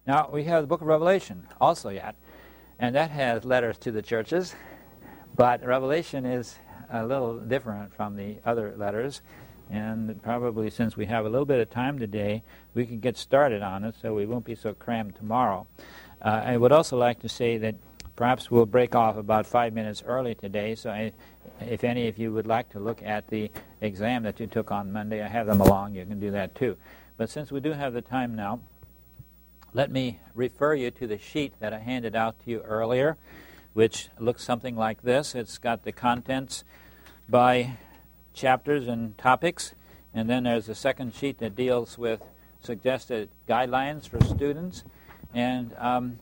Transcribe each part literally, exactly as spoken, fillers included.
Now, we have the book of Revelation also yet, and that has letters to the churches, but Revelation is a little different from the other letters, and probably since we have a little bit of time today, we can get started on it so we won't be so crammed tomorrow. Uh, I would also like to say that perhaps we'll break off about five minutes early today, so I, if any of you would like to look at the exam that you took on Monday, I have them along, you can do that too. But since we do have the time now, let me refer you to the sheet that I handed out to you earlier, which looks something like this. It's got the contents by chapters and topics, and then there's a second sheet that deals with suggested guidelines for students. And um,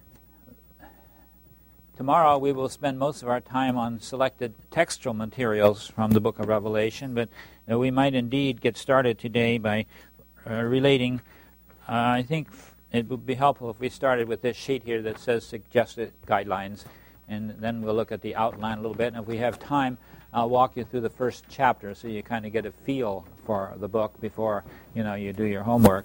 tomorrow we will spend most of our time on selected textual materials from the book of Revelation, but uh, we might indeed get started today by uh, relating, uh, I think it would be helpful if we started with this sheet here that says suggested guidelines, and then we'll look at the outline a little bit, and if we have time, I'll walk you through the first chapter so you kind of get a feel for the book before, you know, you do your homework.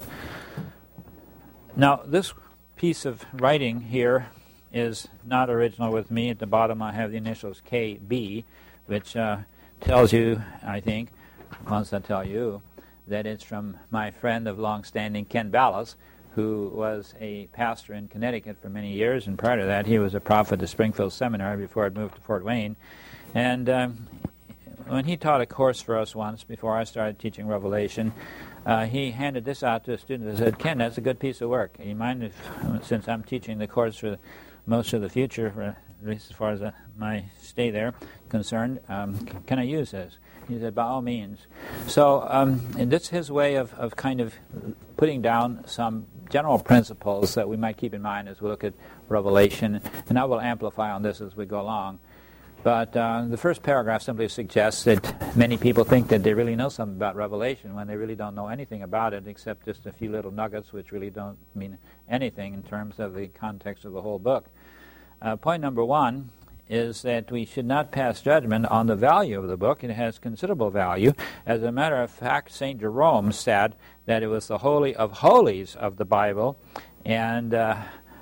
Now, this piece of writing here is not original with me. At the bottom I have the initials K B, which uh, tells you, I think, wants to tell you, that it's from my friend of long-standing, Ken Ballas, who was a pastor in Connecticut for many years, and prior to that he was a prophet at Springfield Seminary before I'd moved to Fort Wayne. And um, when he taught a course for us once, before I started teaching Revelation, uh, he handed this out to a student and said, "Ken, that's a good piece of work. You mind if, since I'm teaching the course for most of the future, for, at least as far as uh, my stay there concerned, um, c- can I use this?" He said, "By all means." So um, and that's his way of, of kind of putting down some general principles that we might keep in mind as we look at Revelation, and I will amplify on this as we go along. But uh, the first paragraph simply suggests that many people think that they really know something about Revelation when they really don't know anything about it except just a few little nuggets which really don't mean anything in terms of the context of the whole book. Uh, point number one is that we should not pass judgment on the value of the book. It has considerable value. As a matter of fact, Saint Jerome said that it was the holy of holies of the Bible, and uh,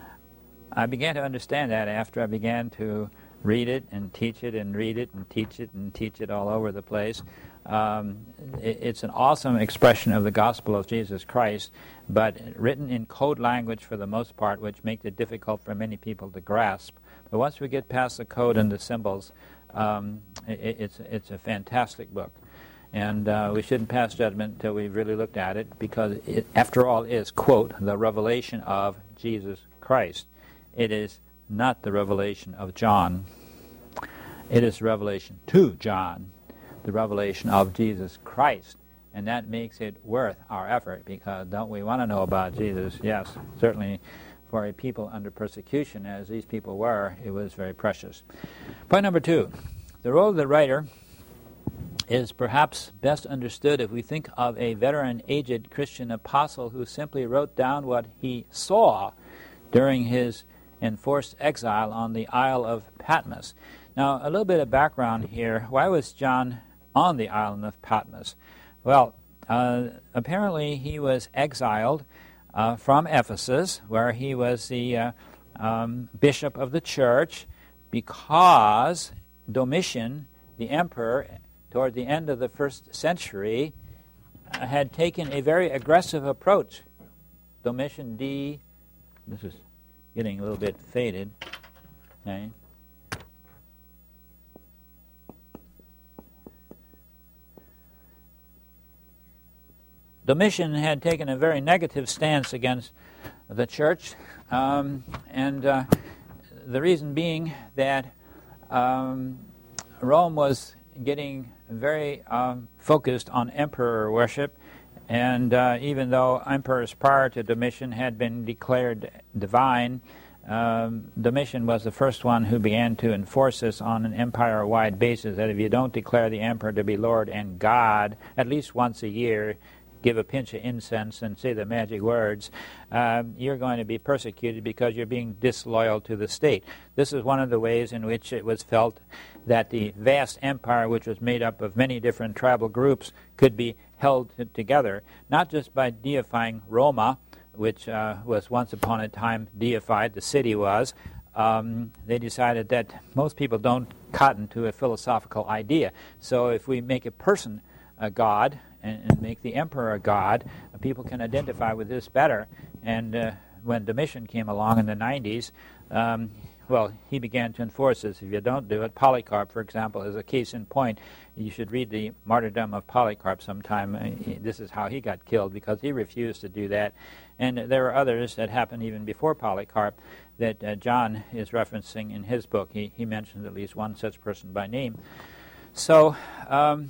I began to understand that after I began to read it and teach it and read it and teach it and teach it all over the place. Um, it, it's an awesome expression of the gospel of Jesus Christ, but written in code language for the most part, which makes it difficult for many people to grasp. But once we get past the code and the symbols, um, it, it's it's a fantastic book. And uh, we shouldn't pass judgment until we've really looked at it, because it, after all, is, quote, the revelation of Jesus Christ. It is not the revelation of John. It is revelation to John, the revelation of Jesus Christ. And that makes it worth our effort, because don't we want to know about Jesus? Yes, certainly for a people under persecution, as these people were, it was very precious. Point number two, the role of the writer is perhaps best understood if we think of a veteran, aged Christian apostle who simply wrote down what he saw during his enforced exile on the Isle of Patmos. Now, a little bit of background here. Why was John on the island of Patmos? Well, uh, apparently he was exiled uh, from Ephesus, where he was the uh, um, bishop of the church, because Domitian, the emperor, toward the end of the first century, uh, had taken a very aggressive approach. Domitian D, this is getting a little bit faded. Okay. Domitian had taken a very negative stance against the church, um, and uh, the reason being that um, Rome was getting very um, focused on emperor worship, and uh, even though emperors prior to Domitian had been declared divine, um, Domitian was the first one who began to enforce this on an empire-wide basis, that if you don't declare the emperor to be Lord and God at least once a year, give a pinch of incense and say the magic words, um, you're going to be persecuted because you're being disloyal to the state. This is one of the ways in which it was felt that the vast empire, which was made up of many different tribal groups, could be held t- together, not just by deifying Roma, which uh, was once upon a time deified, the city was, um, they decided that most people don't cotton to a philosophical idea. So if we make a person a god and, and make the emperor a god, people can identify with this better. And uh, when Domitian came along in the nineties, um, well, he began to enforce this. If you don't do it, Polycarp, for example, is a case in point. You should read the Martyrdom of Polycarp sometime. This is how he got killed, because he refused to do that. And there are others that happened even before Polycarp that uh, John is referencing in his book. He, he mentions at least one such person by name. So, um,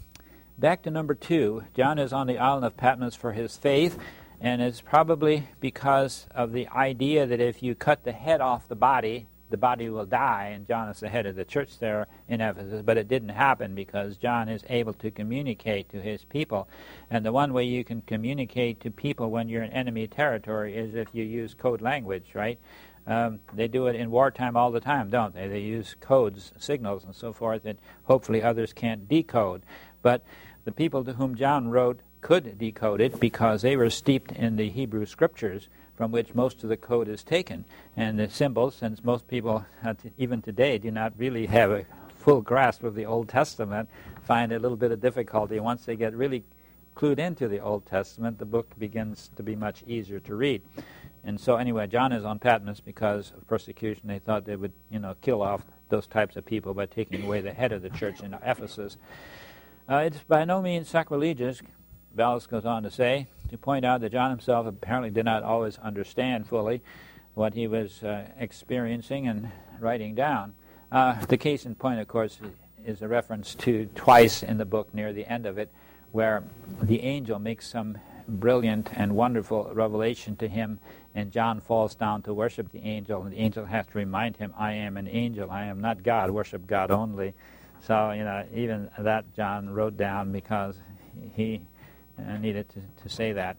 back to number two. John is on the island of Patmos for his faith. And it's probably because of the idea that if you cut the head off the body, the body will die, and John is the head of the church there in Ephesus. But it didn't happen, because John is able to communicate to his people. And the one way you can communicate to people when you're in enemy territory is if you use code language, right? Um, they do it in wartime all the time, don't they? They use codes, signals, and so forth that hopefully others can't decode. But the people to whom John wrote could decode it, because they were steeped in the Hebrew scriptures from which most of the code is taken. And the symbols, since most people, uh, t- even today, do not really have a full grasp of the Old Testament, find a little bit of difficulty. Once they get really clued into the Old Testament, the book begins to be much easier to read. And so anyway, John is on Patmos because of persecution. They thought they would, you know, kill off those types of people by taking away the head of the church in Ephesus. Uh, it's by no means sacrilegious, Vallis goes on to say, to point out that John himself apparently did not always understand fully what he was uh, experiencing and writing down. Uh, the case in point, of course, is a reference to twice in the book near the end of it, where the angel makes some brilliant and wonderful revelation to him, and John falls down to worship the angel, and the angel has to remind him, I am an angel, I am not God, worship God only. So, you know, even that John wrote down because he uh, needed to, to say that.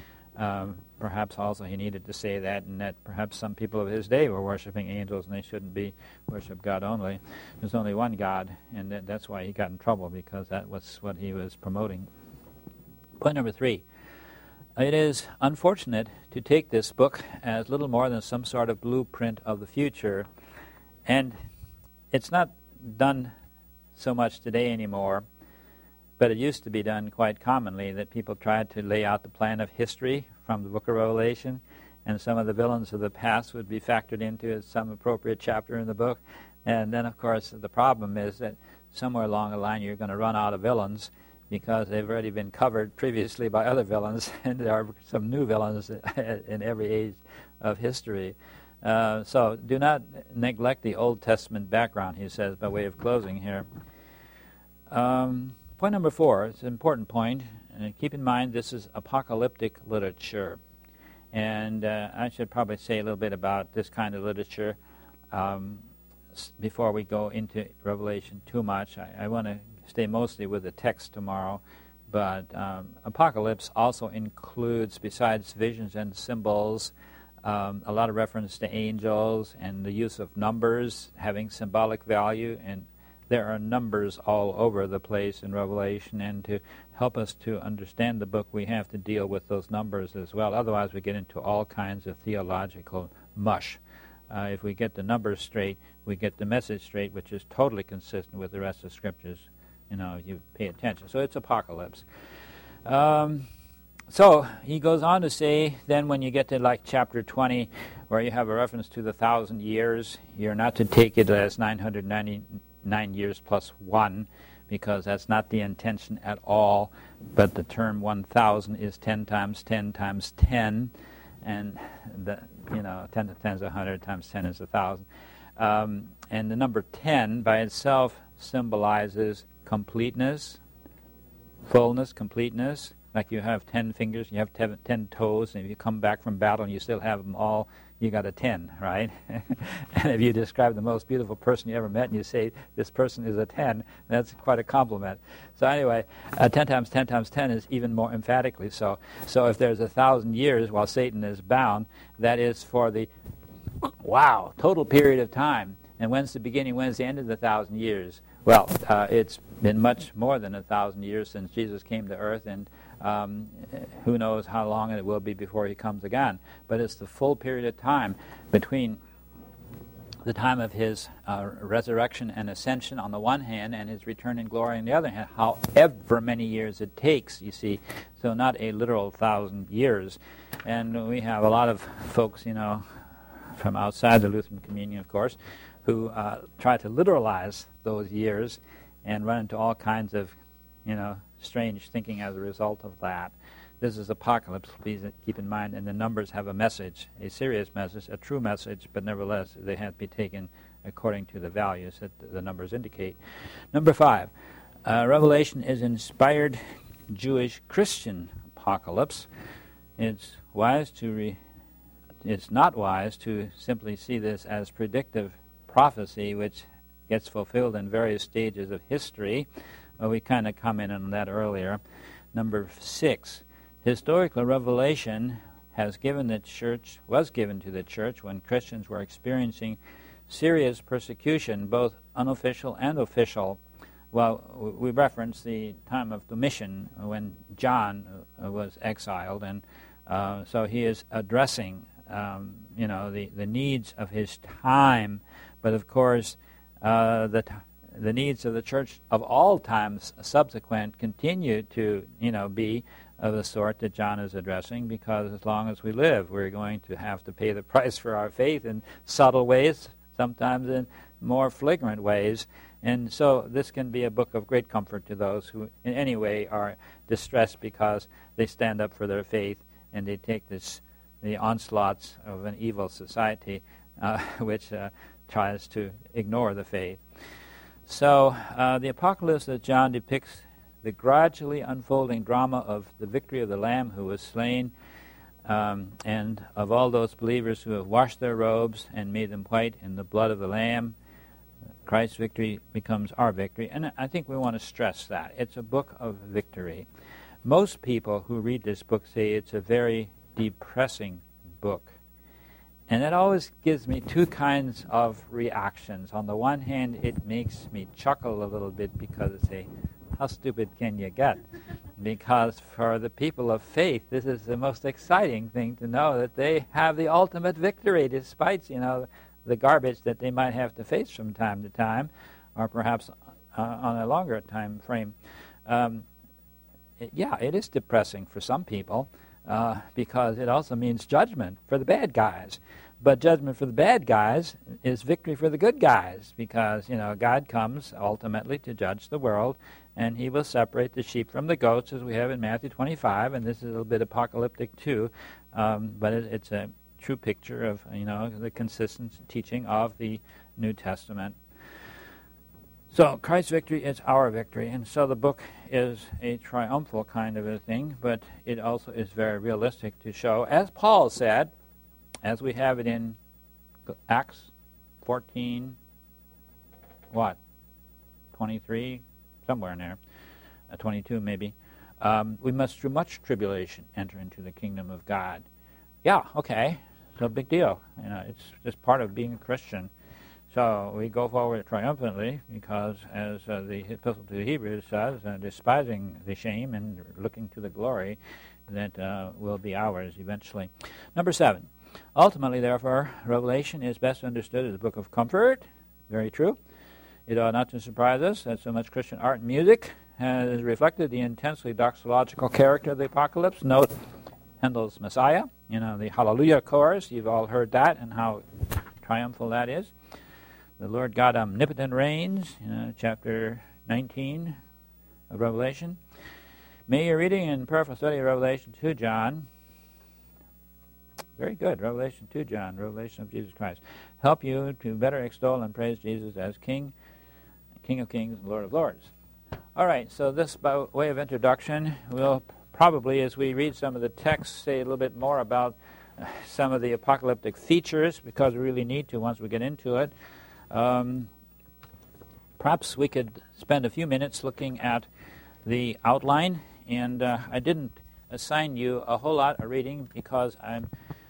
Um, perhaps also he needed to say that, and that perhaps some people of his day were worshiping angels and they shouldn't be worship God only. There's only one God, and that, that's why he got in trouble, because that was what he was promoting. Point number three. It is unfortunate to take this book as little more than some sort of blueprint of the future, and it's not done so much today anymore, but it used to be done quite commonly, that people tried to lay out the plan of history from the book of Revelation, and some of the villains of the past would be factored into some appropriate chapter in the book. And then, of course, the problem is that somewhere along the line you're going to run out of villains, because they've already been covered previously by other villains, and there are some new villains in every age of history. Uh, so do not neglect the Old Testament background, he says, by way of closing here. Um, point number four, it's an important point, and keep in mind this is apocalyptic literature. And uh, I should probably say a little bit about this kind of literature um, s- before we go into Revelation too much. I, I want to stay mostly with the text tomorrow, but um, Apocalypse also includes, besides visions and symbols, um, a lot of reference to angels and the use of numbers having symbolic value, and there are numbers all over the place in Revelation, and to help us to understand the book, we have to deal with those numbers as well. Otherwise, we get into all kinds of theological mush. Uh, if we get the numbers straight, we get the message straight, which is totally consistent with the rest of the Scriptures, you know, if you pay attention. So it's Apocalypse. Um, so he goes on to say, then when you get to like chapter twenty, where you have a reference to the thousand years, you're not to take it as nine hundred ninety-nine years plus one, because that's not the intention at all. But the term one thousand is ten times ten times ten, and the you know ten to ten is one hundred, times ten is one thousand. Um, and the number ten by itself symbolizes completeness, fullness, completeness. Like you have ten fingers, you have ten, ten toes, and if you come back from battle and you still have them all, you got a ten, right? And if you describe the most beautiful person you ever met and you say, this person is a ten, that's quite a compliment. So anyway, uh, ten times ten times ten is even more emphatically so. So if there's a thousand years while Satan is bound, that is for the, wow, total period of time And when's the beginning, when's the end of the thousand years? Well, uh, it's been much more than a thousand years since Jesus came to earth, and um, who knows how long it will be before he comes again. But it's the full period of time between the time of his uh, resurrection and ascension on the one hand, and his return in glory on the other hand, however many years it takes, you see. So not a literal thousand years. And we have a lot of folks, you know, from outside the Lutheran communion, of course, who uh, try to literalize those years and run into all kinds of, you know, strange thinking as a result of that. This is apocalypse, please keep in mind, and the numbers have a message, a serious message, a true message, but nevertheless they have to be taken according to the values that the numbers indicate. Number five, uh, Revelation is inspired Jewish Christian apocalypse. It's wise to re- it's not wise to simply see this as predictive prophecy, which gets fulfilled in various stages of history. Well, we kind of commented on that earlier. Number six, historical revelation has given the church, was given to the church when Christians were experiencing serious persecution, both unofficial and official. Well, we reference the time of Domitian when John was exiled, and uh, so he is addressing, um, you know, the, the needs of his time. But of course, uh, the t- the needs of the church of all times subsequent continue to, you know, be of the sort that John is addressing, because as long as we live, we're going to have to pay the price for our faith in subtle ways, sometimes in more flagrant ways. And so this can be a book of great comfort to those who in any way are distressed because they stand up for their faith and they take this the onslaughts of an evil society uh, which uh, tries to ignore the faith. So uh, the apocalypse of John depicts the gradually unfolding drama of the victory of the Lamb who was slain, um, and of all those believers who have washed their robes and made them white in the blood of the Lamb. Christ's victory becomes our victory, and I think we want to stress that. It's a book of victory. Most people who read this book say it's a very depressing book. And that always gives me two kinds of reactions. On the one hand, it makes me chuckle a little bit because I say, how stupid can you get? Because for the people of faith, this is the most exciting thing to know that they have the ultimate victory, despite, you know, the garbage that they might have to face from time to time, or perhaps uh, on a longer time frame. Um, it, yeah, it is depressing for some people, uh, because it also means judgment for the bad guys. But judgment for the bad guys is victory for the good guys, because, you know, God comes ultimately to judge the world, and he will separate the sheep from the goats, as we have in Matthew twenty-five, and this is a little bit apocalyptic too, um, but it, it's a true picture of, you know, the consistent teaching of the New Testament. So Christ's victory is our victory, and so the book is a triumphal kind of a thing, but it also is very realistic to show, as Paul said, as we have it in Acts fourteen, what, twenty-three, somewhere in there, uh, twenty-two maybe, um, we must through much tribulation enter into the kingdom of God. Yeah, okay, no big deal. You know, it's just part of being a Christian. So we go forward triumphantly because, as uh, the Epistle to the Hebrews says, uh, despising the shame and looking to the glory that uh, will be ours eventually. Number seven. Ultimately, therefore, Revelation is best understood as a book of comfort. Very true. It ought not to surprise us that so much Christian art and music has reflected the intensely doxological character of the apocalypse. Note Handel's Messiah, you know, the Hallelujah chorus. You've all heard that and how triumphal that is. The Lord God omnipotent reigns, you know, chapter nineteen of Revelation. May your reading and prayerful study of Revelation two, John, very good, Revelation two, John, Revelation of Jesus Christ, help you to better extol and praise Jesus as King, King of Kings, Lord of Lords. All right, so this by way of introduction, we'll probably, as we read some of the texts, say a little bit more about some of the apocalyptic features, because we really need to once we get into it. Um, perhaps we could spend a few minutes looking at the outline, and uh, I didn't assign you a whole lot of reading because I'm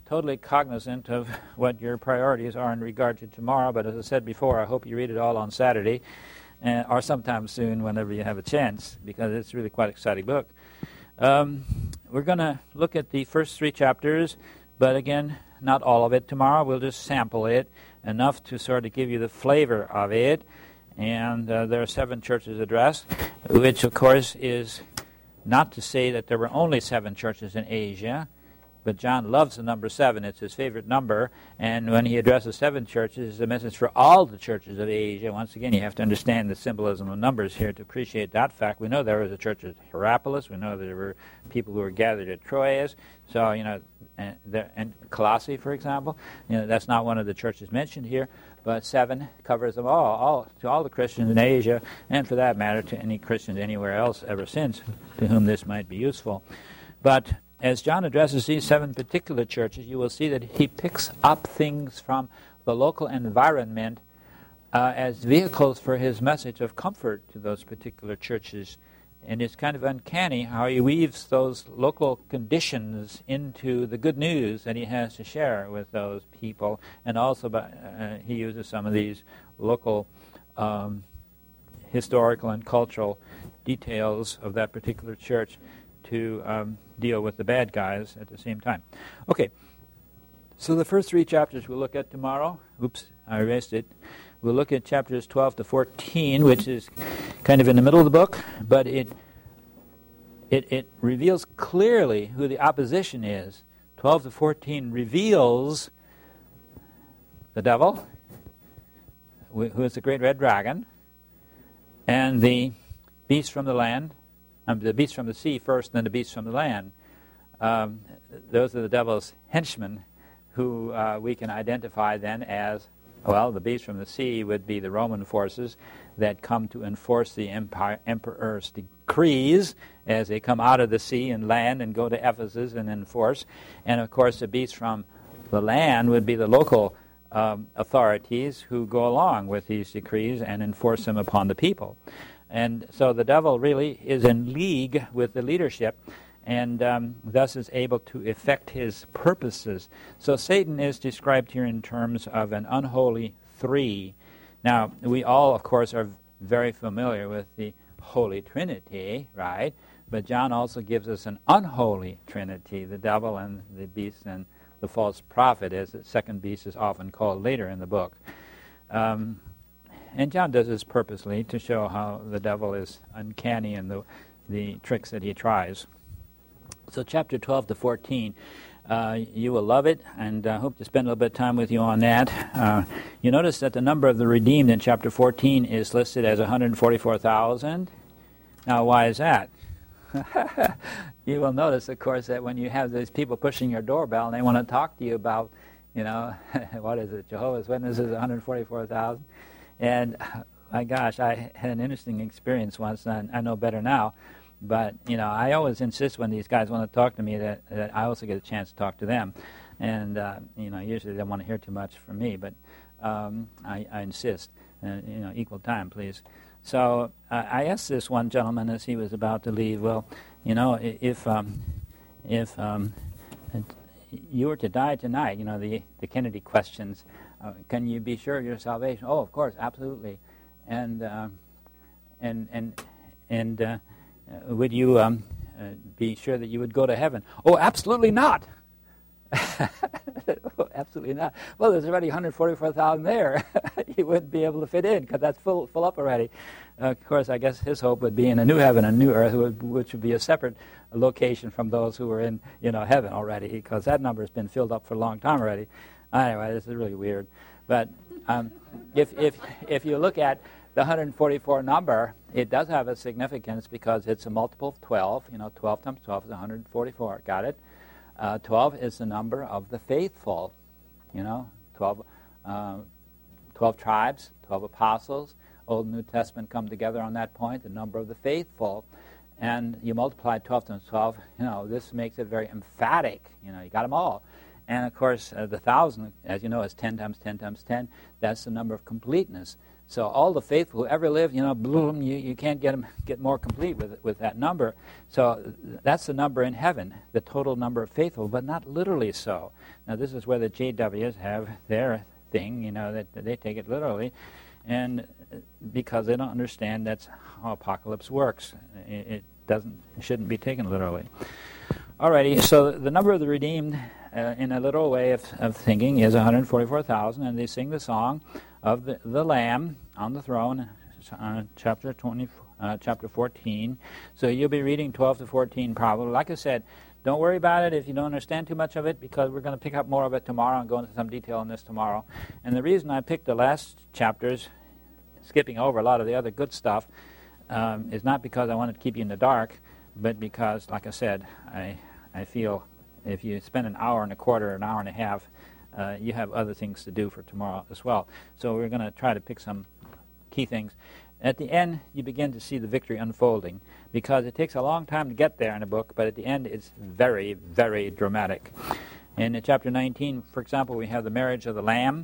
totally cognizant of what your priorities are in regard to tomorrow, but as I said before, I hope you read it all on Saturday, uh, or sometime soon whenever you have a chance, because it's really quite an exciting book. Um, we're going to look at the first three chapters, but again, not all of it tomorrow. We'll just sample it, enough to sort of give you the flavor of it. And uh, there are seven churches addressed, which, of course, is not to say that there were only seven churches in Asia, but John loves the number seven. It's his favorite number. And when he addresses seven churches, it's a message for all the churches of Asia. Once again, you have to understand the symbolism of numbers here to appreciate that fact. We know there was a church at Hierapolis. We know there were people who were gathered at Troas. So, you know, and, there, and Colossae, for example. You know, that's not one of the churches mentioned here. But seven covers them all, all, to all the Christians in Asia, and for that matter, to any Christians anywhere else ever since, to whom this might be useful. But as John addresses these seven particular churches, you will see that he picks up things from the local environment uh, as vehicles for his message of comfort to those particular churches. And it's kind of uncanny how he weaves those local conditions into the good news that he has to share with those people. And also by, uh, he uses some of these local um, historical and cultural details of that particular church to um, deal with the bad guys at the same time. Okay, so the first three chapters we'll look at tomorrow. Oops, I erased it. We'll look at chapters twelve to fourteen, which is kind of in the middle of the book, but it it, it reveals clearly who the opposition is. twelve to fourteen reveals the devil, who is the great red dragon, and the beast from the land, um, the beast from the sea first, and then the beast from the land. Um, those are the devil's henchmen, who uh, we can identify then as, well, the beast from the sea would be the Roman forces that come to enforce the empire, emperor's decrees as they come out of the sea and land and go to Ephesus and enforce. And, of course, the beast from the land would be the local um, authorities who go along with these decrees and enforce them upon the people. And so the devil really is in league with the leadership, and um, thus is able to effect his purposes. So Satan is described here in terms of an unholy three. Now, we all, of course, are very familiar with the Holy Trinity, right? But John also gives us an unholy Trinity, the devil and the beast and the false prophet, as the second beast is often called later in the book. Um, and John does this purposely to show how the devil is uncanny in the, the tricks that he tries. So chapter twelve to fourteen, uh, you will love it, and I uh, hope to spend a little bit of time with you on that. Uh, you notice that the number of the redeemed in chapter fourteen is listed as one hundred forty-four thousand. Now, why is that? You will notice, of course, that when you have these people pushing your doorbell and they want to talk to you about, you know, what is it, Jehovah's Witnesses, one hundred forty-four thousand. And, my gosh, I had an interesting experience once, and I know better now. But, you know, I always insist when these guys want to talk to me that, that I also get a chance to talk to them. And, uh, you know, usually they don't want to hear too much from me, but um, I, I insist. Uh, you know, equal time, please. So uh, I asked this one gentleman as he was about to leave, well, you know, if um, if um, you were to die tonight, you know, the, the Kennedy questions, uh, can you be sure of your salvation? Oh, of course, absolutely. And, uh, and, and, and, uh, Uh, would you um, uh, be sure that you would go to heaven? Oh, absolutely not. Oh, absolutely not. Well, there's already one hundred forty-four thousand there. You wouldn't be able to fit in because that's full, full up already. Uh, of course, I guess his hope would be in a new heaven, a new earth, which would be a separate location from those who were in, you know, heaven already, because that number has been filled up for a long time already. Anyway, this is really weird. But um, if if if you look at the one hundred forty-four number, it does have a significance because it's a multiple of twelve. You know, twelve times twelve is one hundred forty-four. Got it? Uh, twelve is the number of the faithful. You know, twelve, uh, twelve tribes, twelve apostles. Old and New Testament come together on that point, the number of the faithful. And you multiply twelve times twelve, you know, this makes it very emphatic. You know, you got them all. And, of course, uh, the thousand, as you know, is ten times ten times ten. That's the number of completeness. So all the faithful who ever lived, you know, bloom, you, you can't get them get more complete with with that number. So that's the number in heaven, the total number of faithful, but not literally so. Now this is where the J Ws have their thing, you know, that, that they take it literally, and because they don't understand that's how apocalypse works. It, it doesn't, it shouldn't be taken literally. Alrighty, so the number of the redeemed, uh, in a literal way of, of thinking, is one hundred forty-four thousand, and they sing the song of the, the Lamb on the throne, uh, chapter twenty, uh, chapter fourteen. So you'll be reading twelve to fourteen probably. Like I said, don't worry about it if you don't understand too much of it, because we're going to pick up more of it tomorrow and go into some detail on this tomorrow. And the reason I picked the last chapters, skipping over a lot of the other good stuff, um, is not because I wanted to keep you in the dark, but because, like I said, I I feel if you spend an hour and a quarter, an hour and a half, uh, you have other things to do for tomorrow as well. So we're going to try to pick some key things. At the end, you begin to see the victory unfolding, because it takes a long time to get there in a book, but at the end it's very, very dramatic. And in chapter nineteen, for example, we have the marriage of the Lamb.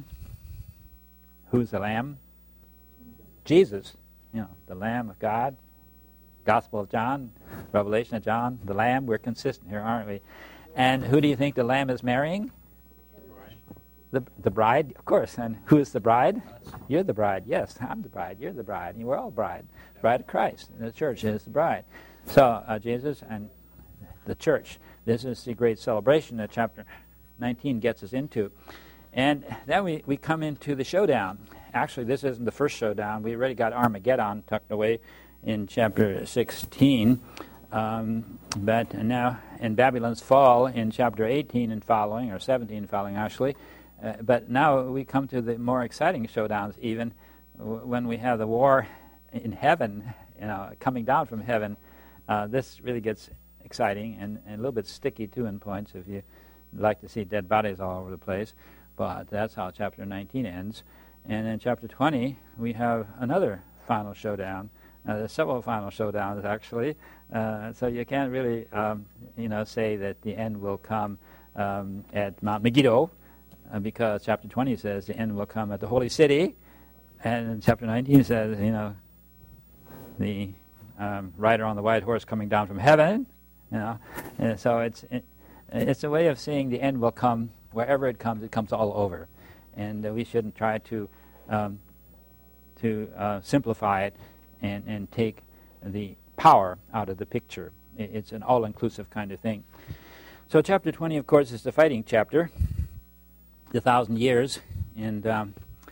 Who's the Lamb? Jesus, you know, the Lamb of God. Gospel of John, Revelation of John, the Lamb. We're consistent here, aren't we? And who do you think the Lamb is marrying? The the bride, of course. And who is the bride? You're the bride. Yes, I'm the bride. You're the bride. And we're all bride. Bride of Christ. And the church is the bride. So uh, Jesus and the church. This is the great celebration that chapter nineteen gets us into. And then we, we come into the showdown. Actually, this isn't the first showdown. We already got Armageddon tucked away in chapter sixteen. Um, but now in Babylon's fall in chapter eighteen and following, or seventeen following actually. Uh, but now we come to the more exciting showdowns, even w- when we have the war in heaven, you know, coming down from heaven. Uh, this really gets exciting and, and a little bit sticky too in points if you like to see dead bodies all over the place. But that's how chapter nineteen ends. And in chapter twenty, we have another final showdown. Uh, there's several final showdowns actually. Uh, so you can't really, um, you know, say that the end will come um, at Mount Megiddo. Uh, because chapter twenty says the end will come at the holy city, and chapter nineteen says, you know, the um, rider on the white horse coming down from heaven, you know. And so it's it, it's a way of saying the end will come wherever it comes. It comes all over, and uh, we shouldn't try to um, to uh, simplify it and and take the power out of the picture. It, it's an all-inclusive kind of thing. So chapter twenty, of course, is the fighting chapter. The thousand years, and um,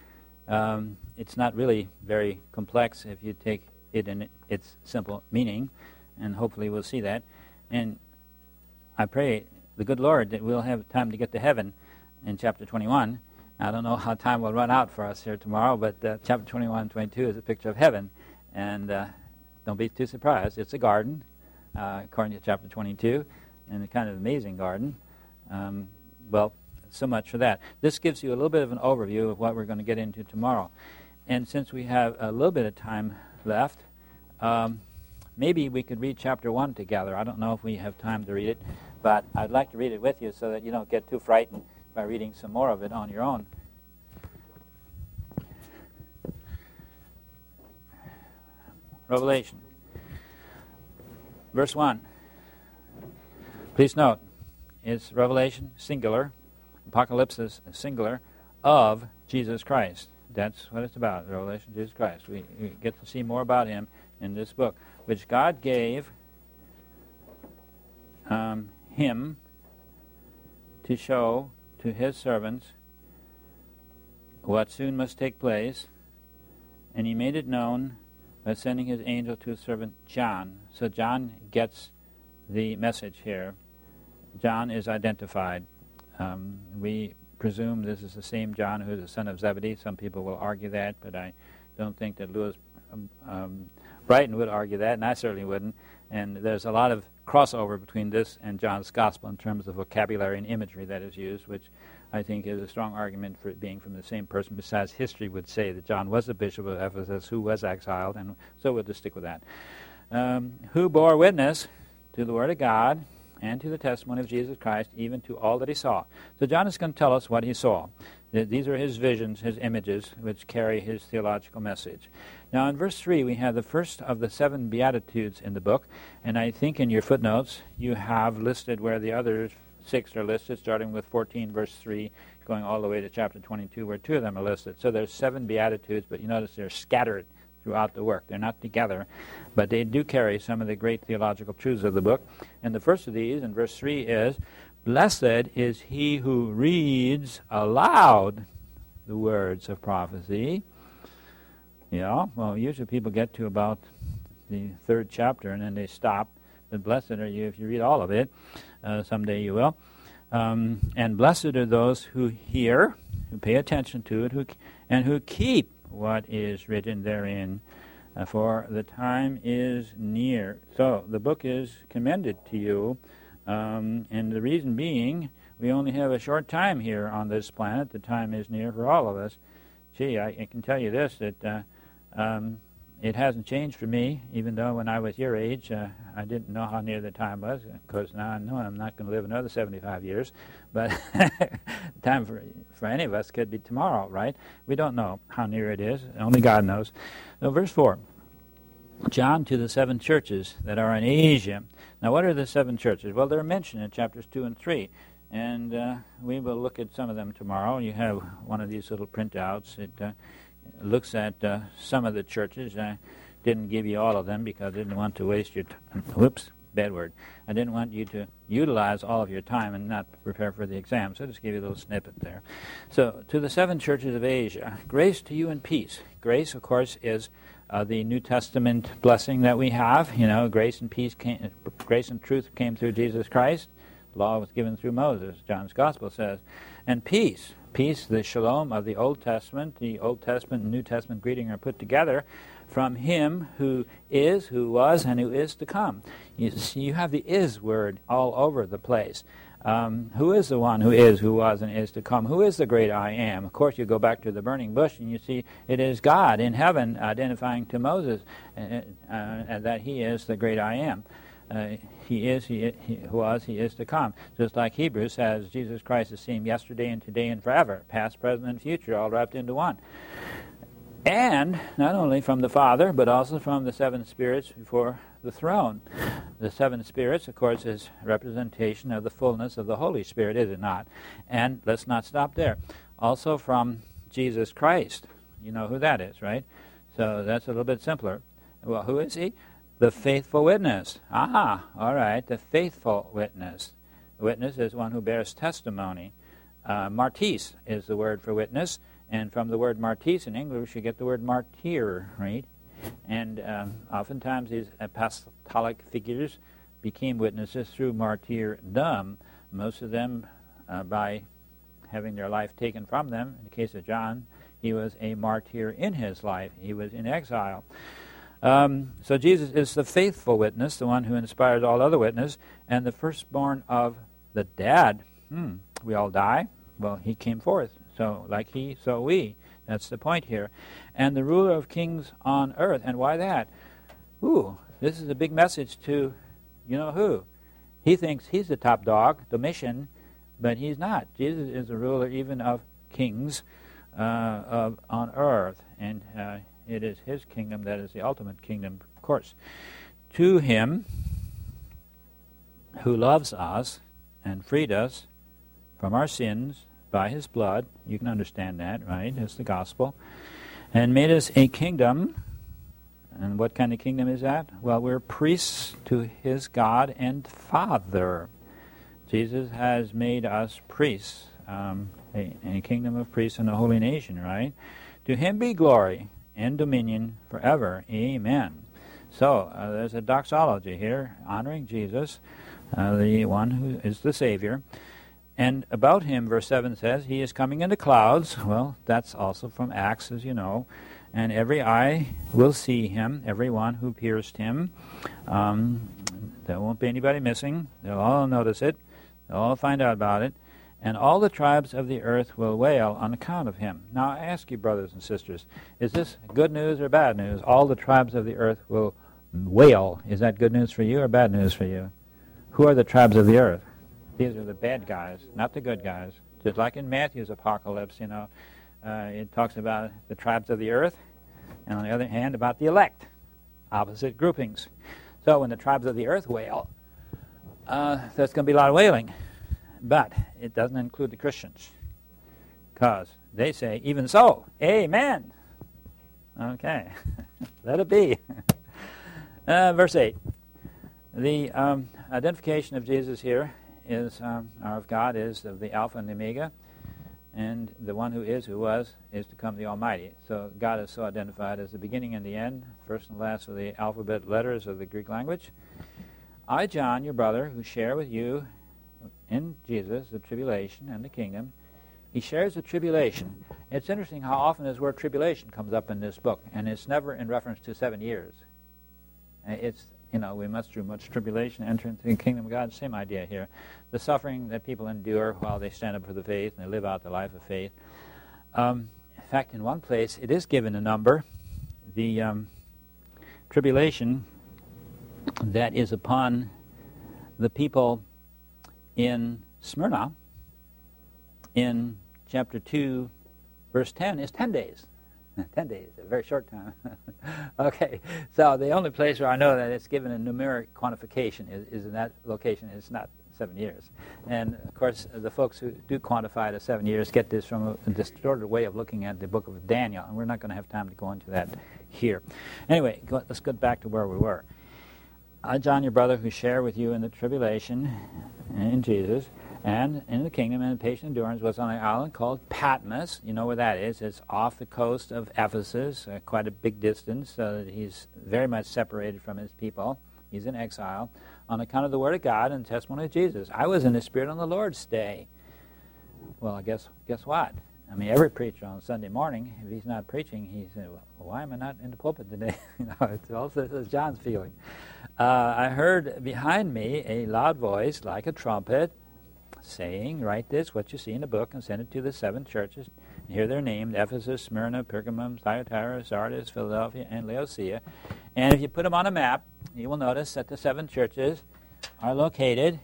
um, it's not really very complex if you take it in its simple meaning, and hopefully we'll see that. And I pray the good Lord that we'll have time to get to heaven in chapter twenty-one. I don't know how time will run out for us here tomorrow, but uh, chapter twenty-one and twenty-two is a picture of heaven, and uh, don't be too surprised. It's a garden, uh, according to chapter twenty-two, and a kind of amazing garden. Um, well, so much for that. This gives you a little bit of an overview of what we're going to get into tomorrow. And since we have a little bit of time left, um, maybe we could read chapter one together. I don't know if we have time to read it, but I'd like to read it with you so that you don't get too frightened by reading some more of it on your own. Revelation. Verse one. Please note, it's Revelation, singular. Apocalypse is singular, of Jesus Christ. That's what it's about, the revelation of Jesus Christ. We, we get to see more about him in this book, which God gave um, him to show to his servants what soon must take place, and he made it known by sending his angel to his servant John. So John gets the message here. John is identified. Um, we presume this is the same John who is the son of Zebedee. Some people will argue that, but I don't think that Lewis um, um, Brighton would argue that, and I certainly wouldn't. And there's a lot of crossover between this and John's Gospel in terms of vocabulary and imagery that is used, which I think is a strong argument for it being from the same person. Besides, history would say that John was the bishop of Ephesus who was exiled, and so we'll just stick with that. Um, who bore witness to the Word of God and to the testimony of Jesus Christ, even to all that he saw. So John is going to tell us what he saw. Th- These are his visions, his images, which carry his theological message. Now in verse three, we have the first of the seven Beatitudes in the book, and I think in your footnotes you have listed where the other six are listed, starting with fourteen, verse three, going all the way to chapter twenty-two, where two of them are listed. So there's seven Beatitudes, but you notice they're scattered throughout the work. They're not together, but they do carry some of the great theological truths of the book. And the first of these, in verse three, is, "Blessed is he who reads aloud the words of prophecy." Yeah, well, usually people get to about the third chapter and then they stop. But blessed are you if you read all of it. Uh, someday you will. Um, and blessed are those who hear, who pay attention to it, who and who keep what is written therein, uh, for the time is near. So the book is commended to you, um, and the reason being, we only have a short time here on this planet. The time is near for all of us. Gee, I, I can tell you this, that uh, um, it hasn't changed for me, even though when I was your age, uh, I didn't know how near the time was. Of course, now I know I'm not going to live another seventy-five years, but time for for any of us could be tomorrow, right? We don't know how near it is. Only God knows. So, verse four, John to the seven churches that are in Asia. Now, what are the seven churches? Well, they're mentioned in chapters two and three, and uh, we will look at some of them tomorrow. You have one of these little printouts. It uh, looks at uh, some of the churches. I didn't give you all of them because I didn't want to waste your time. Whoops, bad word. I didn't want you to utilize all of your time and not prepare for the exam, so I just gave you a little snippet there. So, to the seven churches of Asia, grace to you and peace. Grace, of course, is uh, the New Testament blessing that we have. You know, grace and peace came, grace and truth came through Jesus Christ. Law was given through Moses, John's Gospel says. And peace. Peace, the shalom of the Old Testament, the Old Testament and New Testament greeting are put together from him who is, who was, and who is to come. You see, you have the is word all over the place. Um, who is the one who is, who was, and is to come? Who is the great I am? Of course, you go back to the burning bush and you see it is God in heaven identifying to Moses uh, uh, that he is the great I am. Uh, he is, he, he was, he is to come. Just like Hebrews says, Jesus Christ is seen yesterday and today and forever, past, present, and future, all wrapped into one. And not only from the Father, but also from the seven spirits before the throne. The seven spirits, of course, is representation of the fullness of the Holy Spirit, is it not? And let's not stop there. Also from Jesus Christ. You know who that is, right? So that's a little bit simpler. Well, who is he? The faithful witness. Ah, all right, the faithful witness. The witness is one who bears testimony. Uh, martis is the word for witness, and from the word martis in English you get the word martyr, right? And um, oftentimes these apostolic figures became witnesses through martyrdom, most of them uh, by having their life taken from them. In the case of John, he was a martyr in his life. He was in exile. Um, so Jesus is the faithful witness, the one who inspires all other witness, and the firstborn of the dead. Hmm, we all die. Well, he came forth. So like he, so we. That's the point here. And the ruler of kings on earth. And why that? Ooh, this is a big message to, you know who. He thinks he's the top dog, Domitian, but he's not. Jesus is the ruler even of kings uh, of, on earth. And uh, it is his kingdom that is the ultimate kingdom, of course. To him who loves us and freed us from our sins by his blood, you can understand that, right? It's the gospel. And made us a kingdom. And what kind of kingdom is that? Well, we're priests to his God and Father. Jesus has made us priests, um, a, a kingdom of priests and a holy nation, right? To him be glory and dominion forever. Amen. So, uh, there's a doxology here, honoring Jesus, uh, the one who is the Savior. And about him, verse seven says, he is coming in the clouds. Well, that's also from Acts, as you know. And every eye will see him, everyone who pierced him. Um, there won't be anybody missing. They'll all notice it. They'll all find out about it. And all the tribes of the earth will wail on account of him. Now, I ask you, brothers and sisters, is this good news or bad news? All the tribes of the earth will wail. Is that good news for you or bad news for you? Who are the tribes of the earth? These are the bad guys, not the good guys. Just like in Matthew's apocalypse, you know, uh, it talks about the tribes of the earth, and on the other hand, about the elect, opposite groupings. So when the tribes of the earth wail, uh, there's going to be a lot of wailing. But it doesn't include the Christians, because they say, even so, amen. Okay, let it be. uh, verse eight. The um, identification of Jesus here is, um, or of God, is of the Alpha and the Omega, and the one who is, who was, is to come, the Almighty. So God is so identified as the beginning and the end, first and last of the alphabet letters of the Greek language. I, John, your brother, who share with you in Jesus the tribulation and the kingdom. He shares the tribulation. It's interesting how often this word tribulation comes up in this book, and it's never in reference to seven years. It's, you know, we must through much tribulation enter into the kingdom of God. Same idea here. The suffering that people endure while they stand up for the faith and they live out the life of faith. Um, in fact, in one place, it is given a number. The um, tribulation that is upon the people in Smyrna, in chapter two, verse ten, is ten days. ten days, a very short time. Okay, so the only place where I know that it's given a numeric quantification is, is in that location. It's not seven years. And, of course, the folks who do quantify it as seven years get this from a distorted way of looking at the book of Daniel, and we're not going to have time to go into that here. Anyway, go, let's get back to where we were. I, John, your brother, who share with you in the tribulation in Jesus and in the kingdom and in patient endurance, was on an island called Patmos. You know where that is. It's off the coast of Ephesus, uh, quite a big distance, so that he's very much separated from his people. He's in exile on account of the Word of God and the testimony of Jesus. I was in the Spirit on the Lord's day. Well, I guess guess what? I mean, every preacher on Sunday morning, if he's not preaching, he says, well, why am I not in the pulpit today? You know, it's also this is John's feeling. Uh, I heard behind me a loud voice like a trumpet saying, write this, what you see in the book, and send it to the seven churches. And here they're named: Ephesus, Smyrna, Pergamum, Thyatira, Sardis, Philadelphia, and Laodicea. And if you put them on a map, you will notice that the seven churches are located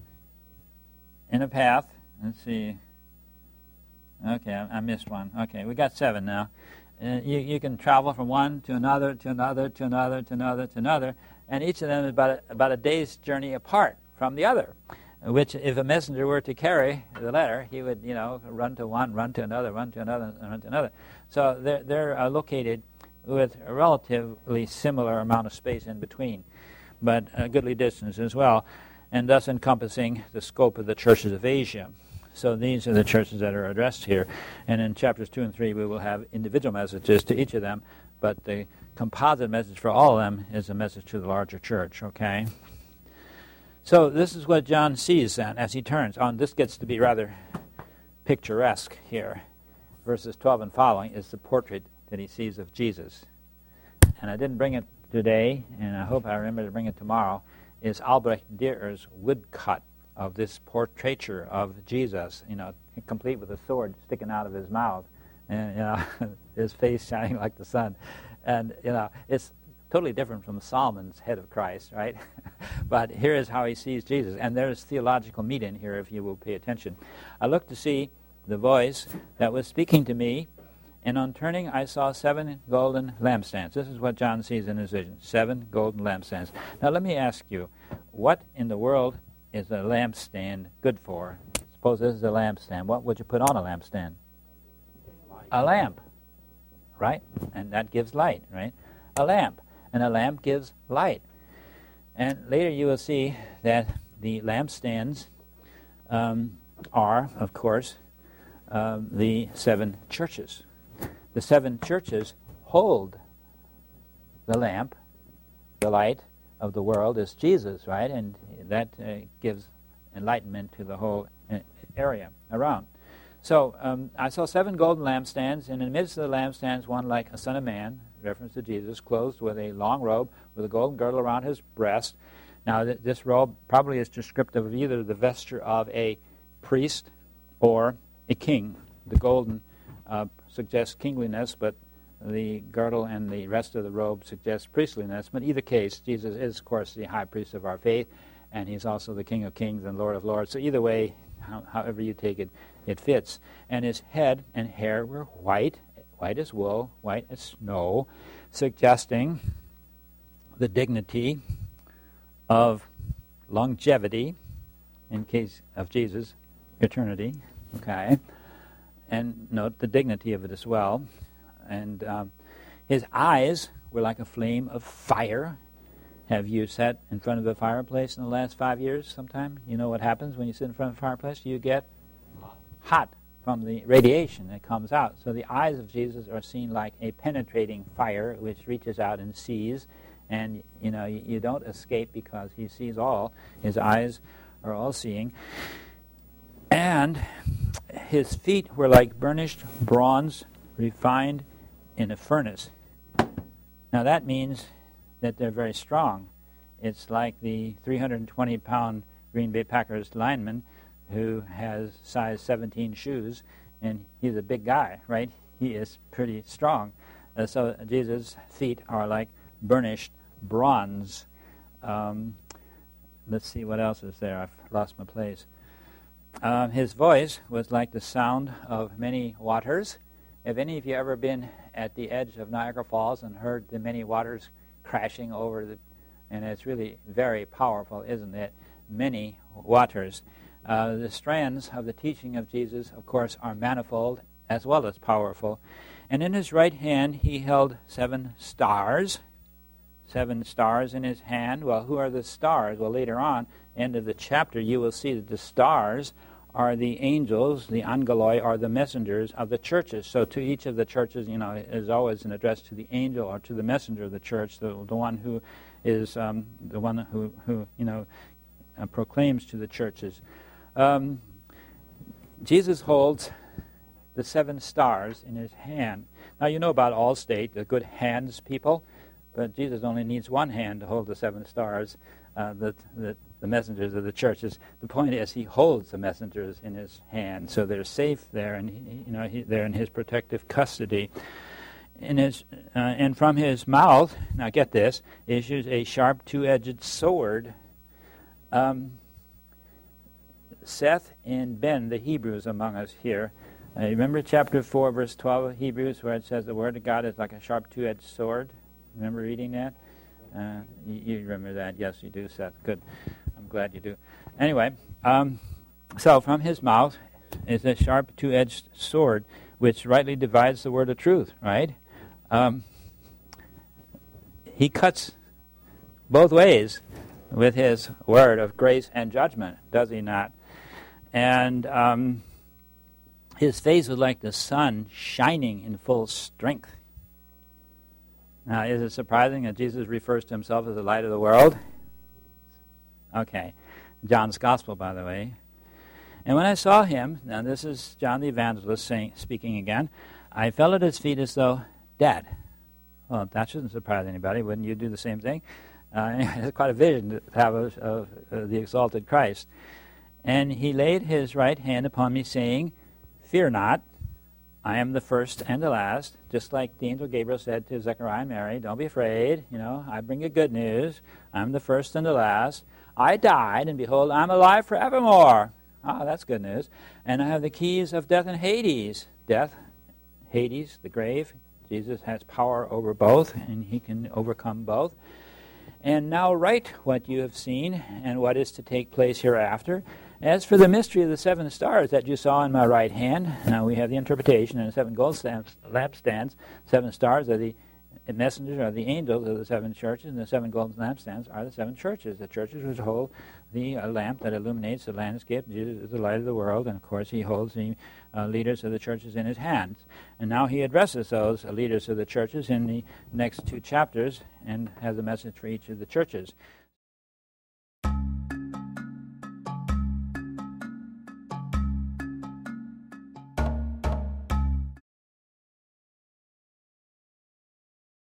in a path. Let's see. Okay, I, I missed one. Okay, we got seven now. Uh, you, you can travel from one to another, to another, to another, to another, to another, and each of them is about a, about a day's journey apart from the other, which if a messenger were to carry the letter, he would, you know, run to one, run to another, run to another, and run to another. So they're, they're uh, located with a relatively similar amount of space in between, but a goodly distance as well, and thus encompassing the scope of the churches of Asia. So these are the churches that are addressed here. And in chapters two and three, we will have individual messages to each of them, but the composite message for all of them is a message to the larger church, okay? So this is what John sees then as he turns on. This gets to be rather picturesque here. Verses twelve and following is the portrait that he sees of Jesus. And I didn't bring it today, and I hope I remember to bring it tomorrow, is Albrecht Dürer's woodcut of this portraiture of Jesus, you know, complete with a sword sticking out of his mouth, and, you know, his face shining like the sun. And, you know, it's totally different from Solomon's head of Christ, right? But here is how he sees Jesus. And there's theological meat in here if you will pay attention. I looked to see the voice that was speaking to me, and on turning I saw seven golden lampstands. This is what John sees in his vision, seven golden lampstands. Now let me ask you, what in the world is a lampstand good for? Suppose this is a lampstand. What would you put on a lampstand? A lamp, right? And that gives light, right? A lamp. And a lamp gives light. And later you will see that the lampstands um, are, of course, um, the seven churches. The seven churches hold the lamp. The light of the world is Jesus, right? And that uh, gives enlightenment to the whole uh, area around. So um, I saw seven golden lampstands, and in the midst of the lampstands, one like a son of man, reference to Jesus, clothed with a long robe with a golden girdle around his breast. Now, th- this robe probably is descriptive of either the vesture of a priest or a king. The golden uh, suggests kingliness, but the girdle and the rest of the robe suggests priestliness. But in either case, Jesus is, of course, the high priest of our faith, and he's also the King of kings and Lord of lords. So either way, how, however you take it, It fits. And his head and hair were white, white as wool, white as snow, suggesting the dignity of longevity, in case of Jesus, eternity, okay? And note the dignity of it as well. And um, his eyes were like a flame of fire. Have you sat in front of a fireplace in the last five years sometime? You know what happens when you sit in front of a fireplace? You get hot from the radiation that comes out. So the eyes of Jesus are seen like a penetrating fire which reaches out and sees. And, you know, you, you don't escape because he sees all. His eyes are all-seeing. And his feet were like burnished bronze refined in a furnace. Now that means that they're very strong. It's like the three hundred twenty pound Green Bay Packers lineman who has size seventeen shoes, and he's a big guy, right? He is pretty strong. Uh, so Jesus' feet are like burnished bronze. Um, let's see what else is there. I've lost my place. Um, his voice was like the sound of many waters. Have any of you ever been at the edge of Niagara Falls and heard the many waters crashing over the, and it's really very powerful, isn't it? Many waters. Uh, the strands of the teaching of Jesus, of course, are manifold as well as powerful. And in his right hand he held seven stars. Seven stars in his hand. Well, who are the stars? Well, later on, end of the chapter, you will see that the stars are the angels, the angeloi are the messengers of the churches. So to each of the churches, you know, is always an address to the angel or to the messenger of the church, the, the one who is um, the one who, who you know, uh, proclaims to the churches. Um, Jesus holds the seven stars in his hand. Now, you know about Allstate, the good hands people, but Jesus only needs one hand to hold the seven stars, uh, the, the, the messengers of the churches. The point is, he holds the messengers in his hand, so they're safe there, and he, you know he, they're in his protective custody. In his, uh, and from his mouth, now get this, issues a sharp two-edged sword. Um, Seth and Ben, the Hebrews among us here, uh, remember chapter four, verse twelve of Hebrews, where it says the word of God is like a sharp two-edged sword? Remember reading that? Uh, you, you remember that? Yes, you do, Seth. Good. I'm glad you do. Anyway, um, so from his mouth is a sharp two-edged sword, which rightly divides the word of truth, right? Um, he cuts both ways with his word of grace and judgment, does he not? And um, his face was like the sun shining in full strength. Now, is it surprising that Jesus refers to himself as the light of the world? Okay. John's Gospel, by the way. And when I saw him, now this is John the Evangelist saying, speaking again, I fell at his feet as though dead. Well, that shouldn't surprise anybody. Wouldn't you do the same thing? Uh, it's quite a vision to have of, of uh, the exalted Christ. And he laid his right hand upon me, saying, Fear not, I am the first and the last. Just like the angel Gabriel said to Zechariah and Mary, don't be afraid. You know, I bring you good news. I'm the first and the last. I died, and behold, I'm alive forevermore. Ah, that's good news. And I have the keys of death and Hades. Death, Hades, the grave. Jesus has power over both, and he can overcome both. And now write what you have seen and what is to take place hereafter. As for the mystery of the seven stars that you saw in my right hand, now we have the interpretation and the seven gold stamps, lampstands. Seven stars are the messengers, are the angels of the seven churches, and the seven golden lampstands are the seven churches. The churches which hold the uh, lamp that illuminates the landscape. Jesus is the light of the world, and of course he holds the uh, leaders of the churches in his hands. And now he addresses those uh, leaders of the churches in the next two chapters and has a message for each of the churches.